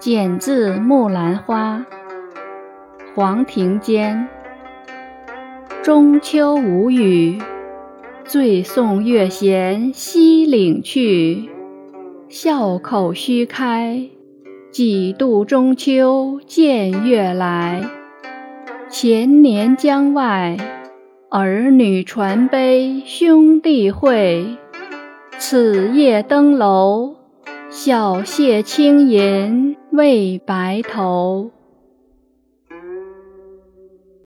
剪自《木兰花》黄庭坚。中秋无语，醉送月闲西岭去。笑口须开，几度中秋见月来。前年江外，儿女传悲兄弟会。此夜登楼，小谢轻吟为白头。